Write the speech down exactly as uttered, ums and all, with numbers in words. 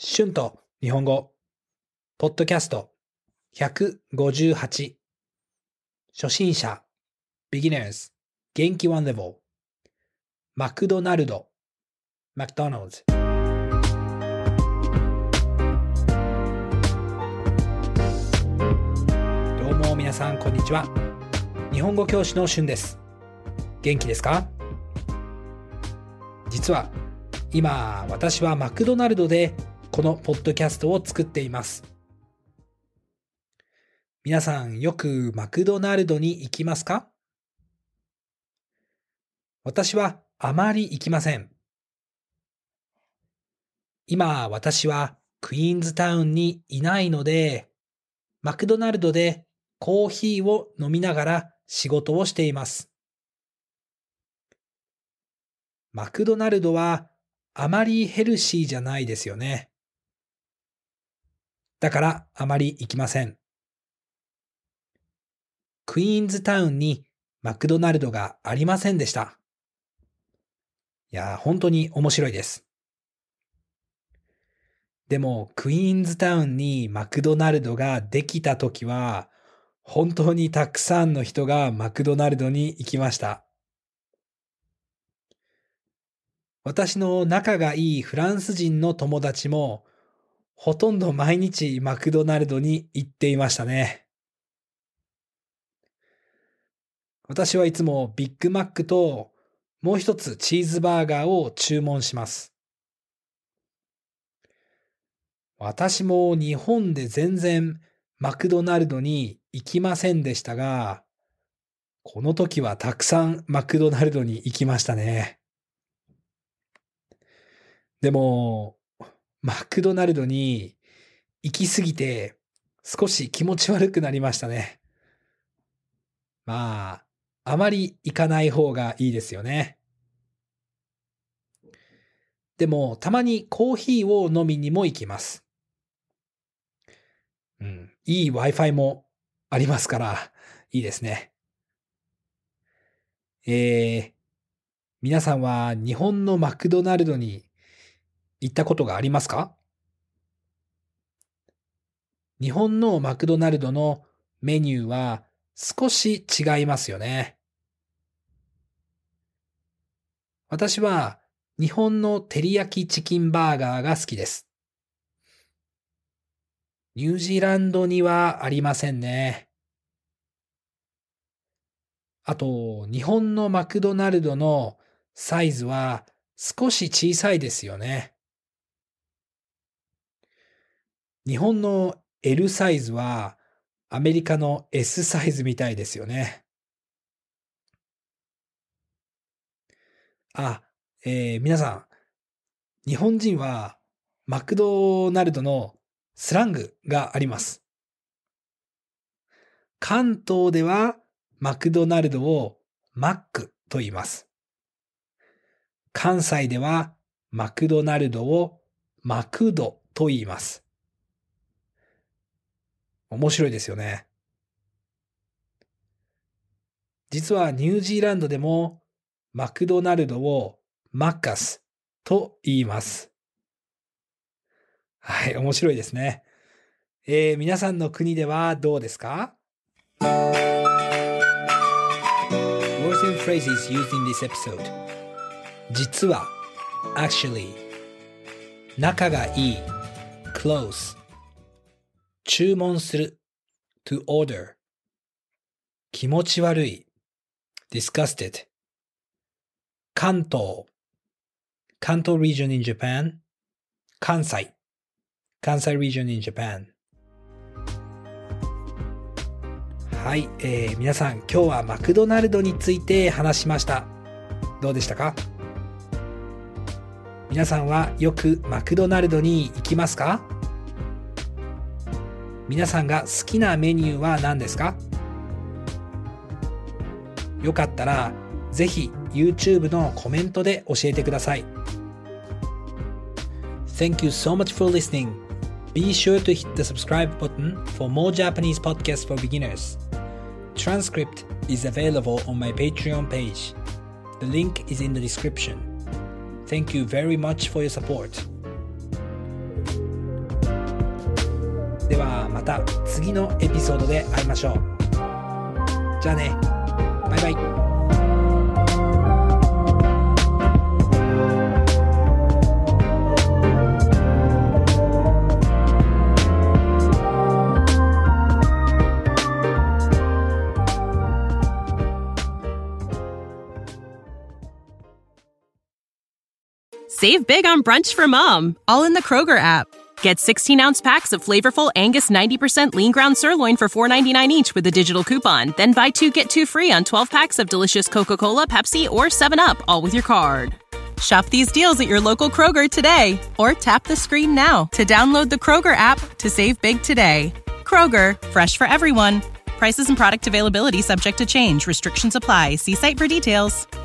春と日本語ポッドキャストひゃくごじゅうはち初心者 Beginners 元気ワンレベルマクドナルド McDonald's どうも皆さんこんにちは。日本語教師の春です。元気ですか？実は今私はマクドナルドでこのポッドキャストを作っています。皆さんよくマクドナルドに行きますか？私はあまり行きません。今私はクイーンズタウンにいないので、マクドナルドでコーヒーを飲みながら仕事をしています。マクドナルドはあまりヘルシーじゃないですよね。だからあまり行きません。クイーンズタウンにマクドナルドがありませんでした。いや、本当に面白いです。でも、クイーンズタウンにマクドナルドができたときは、本当にたくさんの人がマクドナルドに行きました。私の仲がいいフランス人の友達も、ほとんど毎日マクドナルドに行っていましたね。私はいつもビッグマックともう一つチーズバーガーを注文します。私も日本で全然マクドナルドに行きませんでしたが、この時はたくさんマクドナルドに行きましたね。でも、マクドナルドに行きすぎて少し気持ち悪くなりましたね。まあ、あまり行かない方がいいですよね。でも、たまにコーヒーを飲みにも行きます。うん、いい Wi-Fi もありますから、いいですね。えー、皆さんは日本のマクドナルドに行ったことがありますか？日本のマクドナルドのメニューは少し違いますよね。私は日本の照り焼きチキンバーガーが好きです。ニュージーランドにはありませんね。あと、日本のマクドナルドのサイズは少し小さいですよね。日本の エル サイズはアメリカの エス サイズみたいですよね。あ、えー皆さん、日本人はマクドナルドのスラングがあります。関東ではマクドナルドをマックと言います。関西ではマクドナルドをマクドと言います。面白いですよね。実はニュージーランドでもマクドナルドをマッカスと言います。はい、面白いですね。えー、皆さんの国ではどうですか？ Words and phrases used in this episode 実は actually 仲がいい close 注文する to order 気持ち悪い disgusted 関東関東 region in Japan 関西関西 region in Japan はい、えー、皆さん今日はマクドナルドについて話しました。どうでしたか？皆さんはよくマクドナルドに行きますか？皆さんが好きなメニューは何ですか？よかったらぜひ YouTube のコメントで教えてください。Thank you so much for listening. Be sure to hit the subscribe button for more Japanese podcasts for beginners. Transcript is available on my Patreon page. The link is in the description. Thank you very much for your support. また次のエピソードで会いましょう。じゃあね、バイバイ。 Save big on brunch for mom, all in the Kroger app. Get sixteen-ounce packs of flavorful Angus ninety percent lean ground sirloin for four ninety-nine each with a digital coupon. Then buy two, get two free on twelve packs of delicious Coca-Cola, Pepsi, or seven up, all with your card. Shop these deals at your local Kroger today, or tap the screen now to download the Kroger app to save big today. Kroger, fresh for everyone. Prices and product availability subject to change. Restrictions apply. See site for details.